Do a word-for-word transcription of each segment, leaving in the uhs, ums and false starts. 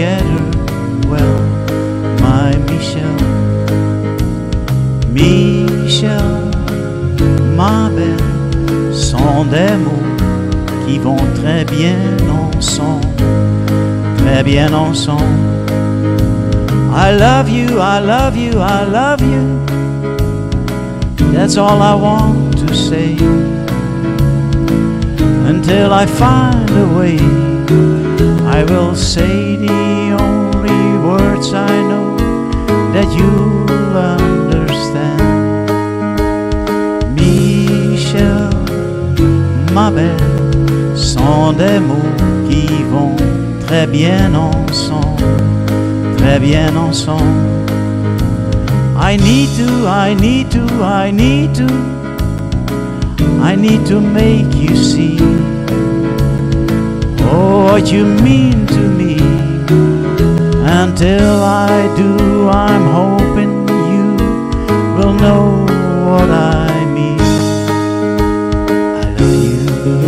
together well, my Michel. Michel, ma belle, sont des mots qui vont très bien ensemble, très bien ensemble. I love you, I love you, I love you. That's all I want to say. Until I find a way, I will say the only words I know that you'll understand. Michel, ma belle, sont des mots qui vont très bien ensemble, très bien ensemble. I need to, I need to, I need to, I need to make you see oh, what you mean to me. Until I do, I'm hoping you will know what I mean. I love you.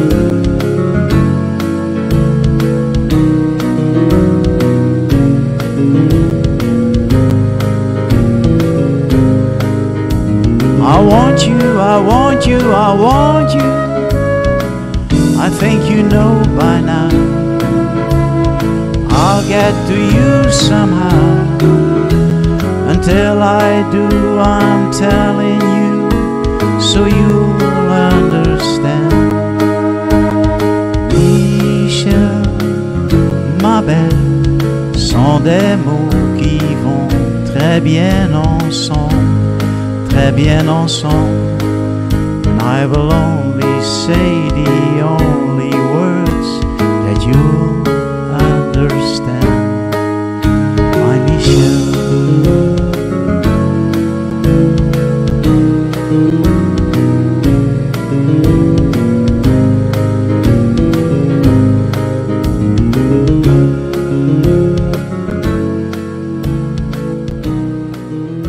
I want you, I want you, I want you. I think you know by now. I'll get to you somehow. Until I do, I'm telling you, so you'll understand. Michel, ma belle, sont des mots qui vont très bien ensemble, très bien ensemble. And I will only say the only words that you'll understand, my Michel.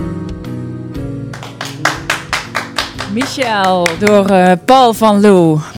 Michel door uh, Paul van Loo.